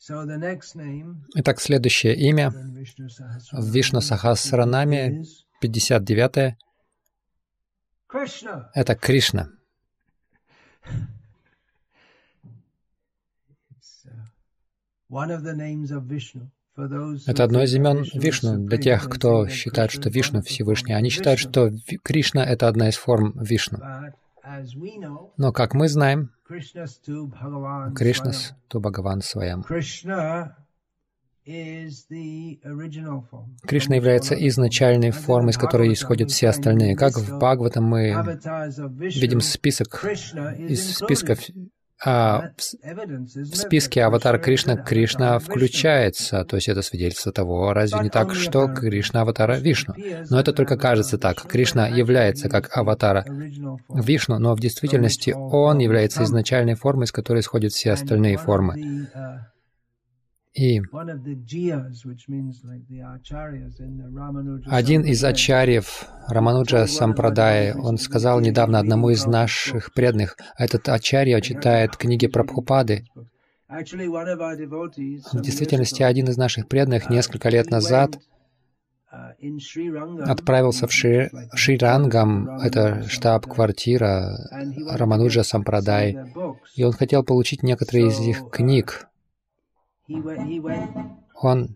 Итак, следующее имя в Вишну Сахасранаме, 59-е, это Кришна. Это одно из имен Вишну для тех, кто считает, что Вишну Всевышний. Они считают, что Кришна — это одна из форм Вишну. Но, как мы знаем, Кришнасту Бхагаван Сваям. Кришна является изначальной формой, из которой исходят все остальные. Как в Бхагаватам мы видим список из списков. В списке аватара Кришна включается, то есть это свидетельство того, разве не так, что Кришна аватара Вишну. Но это только кажется так. Кришна является как аватара Вишну, но в действительности он является изначальной формой, из которой исходят все остальные формы. И один из ачарьев Рамануджа Сампрадай, он сказал недавно одному из наших преданных, этот ачарья читает книги Прабхупады. В действительности, один из наших преданных несколько лет назад отправился в Шрирангам, это штаб-квартира Рамануджа Сампрадай, и он хотел получить некоторые из их книг. Он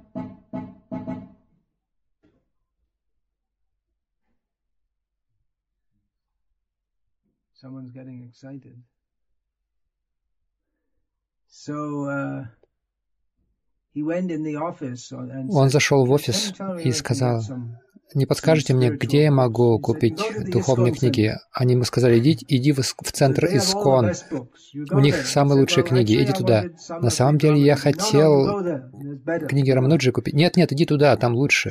зашел в офис и сказал: «Не подскажете мне, где я могу купить духовные книги?» Они ему сказали: иди в центр Искон. У них самые лучшие книги, иди туда. На самом деле я хотел книги Рамануджи купить. Нет, иди туда, там лучше.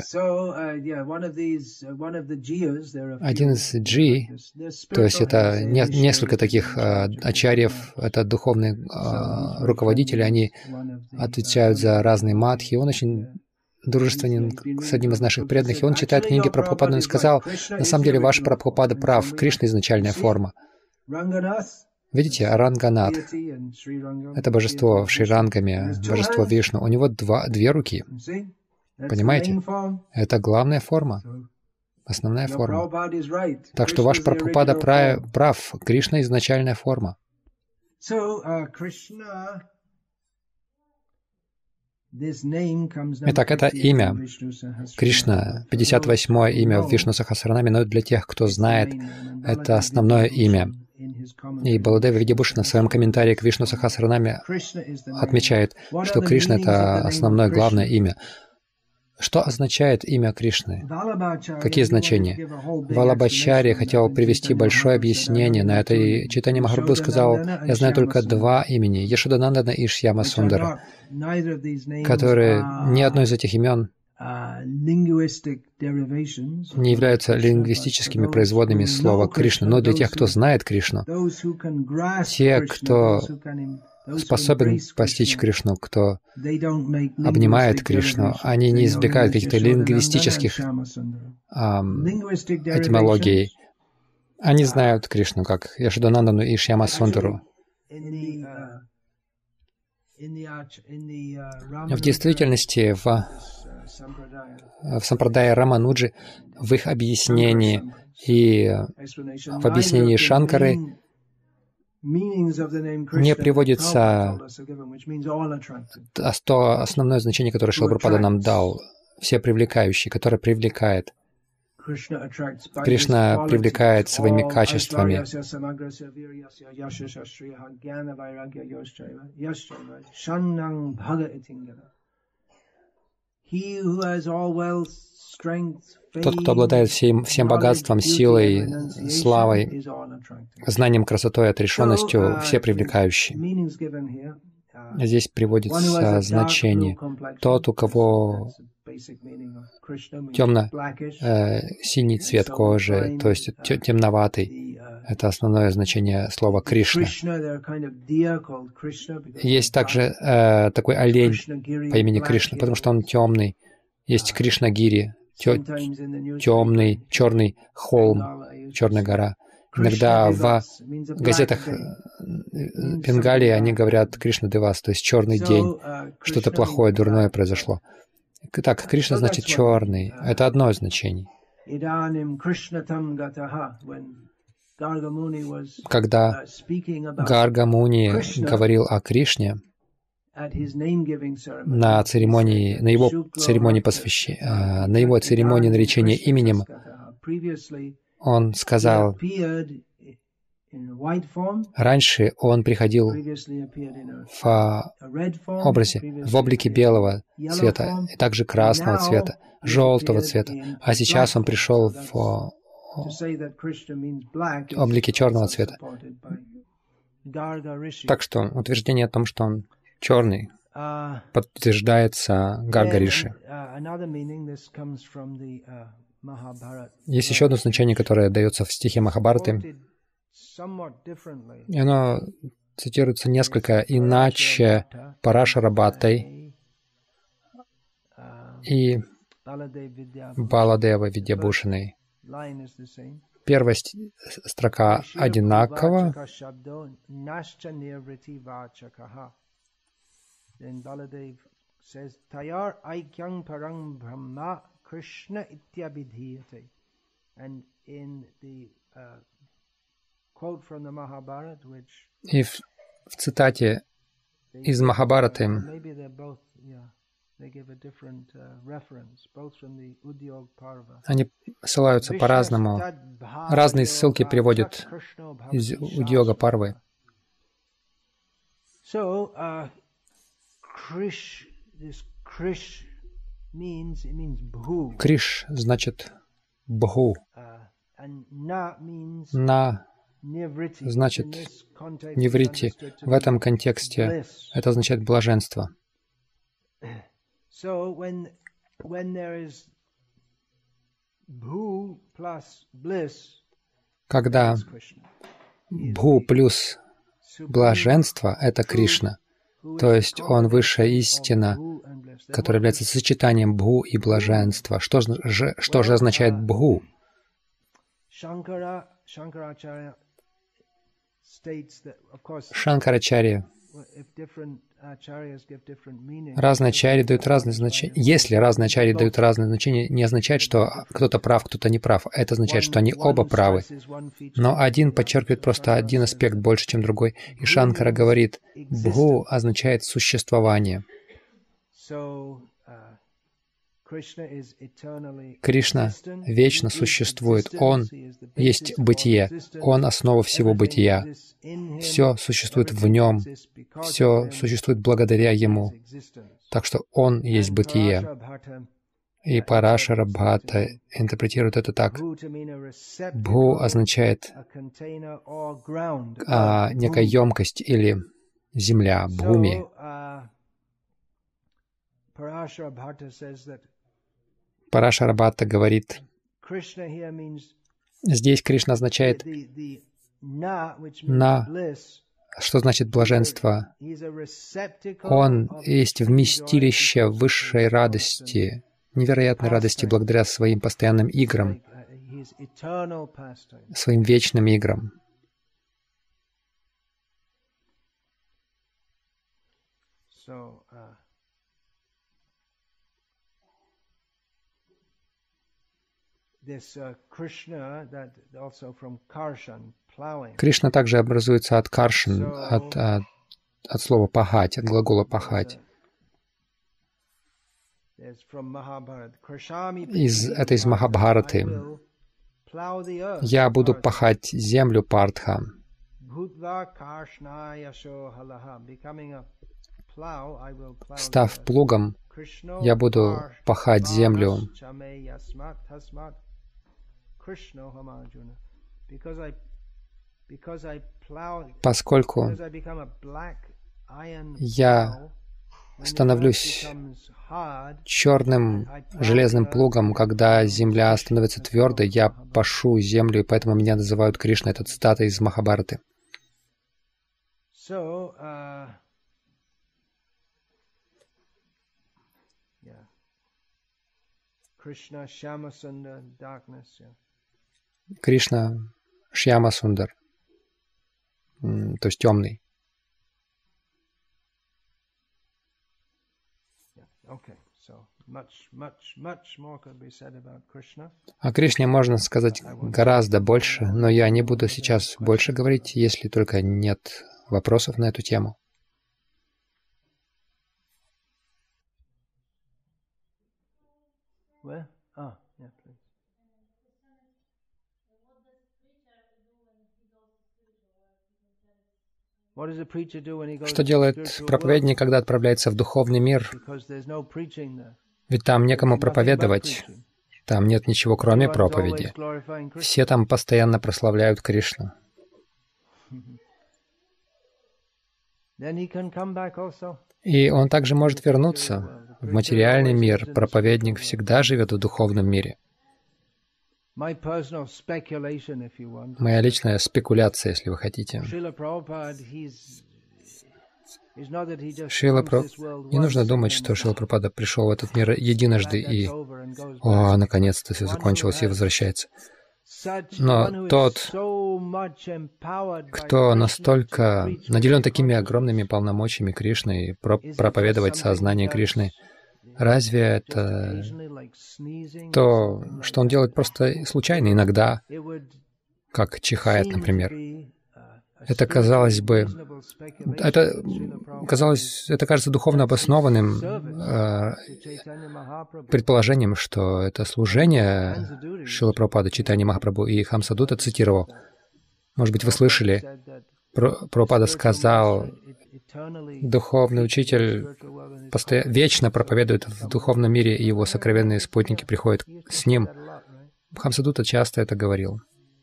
Один из джи, то есть это несколько таких ачарьев, это духовные руководители, они отвечают за разные мадхи. Он очень дружественен с одним из наших преданных, и он читает книги Прабхупады, он сказал: на самом деле ваш Прабхупада прав, Кришна — изначальная форма. Видите, Ранганат — это божество в Шрирангаме, божество Вишну. У него две руки. Понимаете? Это главная форма, основная форма. Так что ваш Прабхупада прав, Кришна — изначальная форма. Итак, это имя Кришна, 58-е имя в Вишну Сахасранаме, но для тех, кто знает, это основное имя. И Баладева Видябушина в своем комментарии к Вишну Сахасранаме отмечает, что Кришна — это основное, главное имя. Что означает имя Кришны? Какие значения? Валабхачарья хотел привести большое объяснение на это, и Чайтанья Махапрабху сказал: я знаю только два имени — Яшоданандана и Шьяма Сундара, которые ни одно из этих имен не являются лингвистическими производными слова Кришна. Но для тех, кто знает Кришну, те, кто способен постичь Кришну, кто обнимает Кришну, они не извлекают каких-то лингвистических этимологий. Они знают Кришну как Яшоданандану и Шьяма Сундару. В действительности, в сампрадае Рамануджи, в их объяснении и в объяснении Шанкары не приводится то основное значение, которое Шрила Прабхупада нам дал, все привлекающие, которое привлекает. Кришна привлекает своими качествами. Тот, кто обладает всем богатством, силой, славой, знанием, красотой, отрешенностью, все привлекающие. Здесь приводится значение. Тот, у кого темно-синий цвет кожи, то есть темноватый, это основное значение слова Кришна. Есть также такой олень по имени Кришна, потому что он темный. Есть Кришнагири, темный, черный холм, черная гора. Иногда в газетах Бенгалии они говорят Кришна Девас, то есть черный день, что-то плохое, дурное произошло. Так, Кришна значит черный. Это одно из значений. Когда Гарга Муни говорил о Кришне на церемонии, на его церемонии наречения именем, он сказал, раньше он приходил в облике белого цвета, и также красного цвета, желтого цвета, а сейчас он пришел в облике черного цвета. Так что утверждение о том, что он черный, подтверждается Гарга Риши. Есть еще одно значение, которое дается в стихе Махабхараты, и оно цитируется несколько иначе Парашара Бхаттой и Баладева Видьябхушаной. Первая строка одинакова. И в цитате из Махабхараты они ссылаются по-разному. Разные ссылки приводят из Удьога Парвы. Криш значит Бху. На значит неврити. В этом контексте это означает блаженство. Когда Бху плюс блаженство — это Кришна, то есть Он высшая истина, которая является сочетанием Бху и блаженства. Что же означает Бху? Шанкарачарья. Разные ачарьи дают разные значения. Если разные ачарьи дают разные значения, не означает, что кто-то прав, кто-то не прав. Это означает, что они оба правы. Но один подчеркивает просто один аспект больше, чем другой. И Шанкара говорит, Бху означает существование. Кришна вечно существует. Он есть бытие. Он — основа всего бытия. Все существует в Нем. Все существует благодаря Ему. Так что Он есть бытие. И Парашара Бхатта интерпретирует это так. Бху означает некая емкость или земля, бхуми. Парашара Бхатта говорит, здесь Кришна означает «на», что значит блаженство. Он есть вместилище высшей радости, невероятной радости благодаря своим постоянным играм, своим вечным играм. Кришна также образуется от каршан, от слова пахать, от глагола пахать. Это из Махабхараты. «Я буду пахать землю, Партха». «Став плугом, я буду пахать землю». Поскольку я становлюсь черным железным плугом, когда земля становится твердой, я пашу землю, и поэтому меня называют Кришной. Это цитата из Махабхараты. Кришна Шьяма Сундар, то есть темный. О Кришне можно сказать гораздо больше, но я не буду сейчас больше говорить, если только нет вопросов на эту тему. Что делает проповедник, когда отправляется в духовный мир? Ведь там некому проповедовать. Там нет ничего, кроме проповеди. Все там постоянно прославляют Кришну. И он также может вернуться в материальный мир. Проповедник всегда живет в духовном мире. Моя личная спекуляция, если вы хотите. Не нужно думать, что Шрила Прабхупада пришел в этот мир единожды и наконец-то все закончилось и возвращается. Но тот, кто настолько наделен такими огромными полномочиями Кришны и проповедовать сознание Кришны, разве это то, что он делает просто случайно, иногда, как чихает, например? Это, казалось бы, это кажется духовно обоснованным предположением, что это служение Шрилы Прабхупады, Чайтанья Махапрабху и Хамсадута цитировал. Может быть, вы слышали, Прабхупада сказал, духовный учитель вечно проповедует в духовном мире, и его сокровенные спутники приходят с ним. Хамсадута часто это говорил.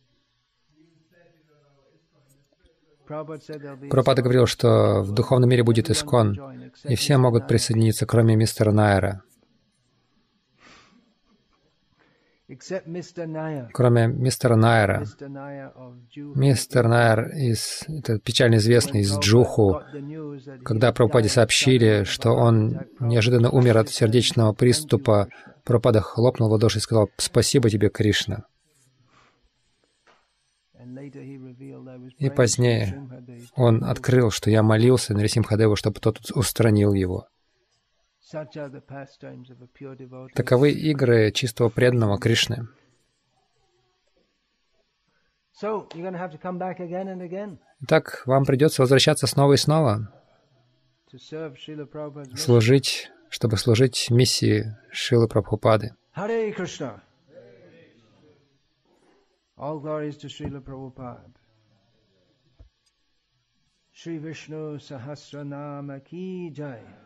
Прабхупада говорил, что в духовном мире будет Искон, и все могут присоединиться, кроме мистера Найера. Кроме мистера Найера. Мистер Найер, это печально известный, из Джуху, когда Прабхупаде сообщили, что он неожиданно умер от сердечного приступа, Прабхупада хлопнул в ладоши и сказал: «Спасибо тебе, Кришна». И позднее он открыл, что я молился Нарисимхадеву, чтобы тот устранил его. Таковы игры чистого преданного Кришны. Итак, вам придется возвращаться снова и снова, служить, чтобы служить миссии Шрилы Прабхупады. All glories to Srila Prabhupada. Shri Vishnu Sahasranama Ki Jai.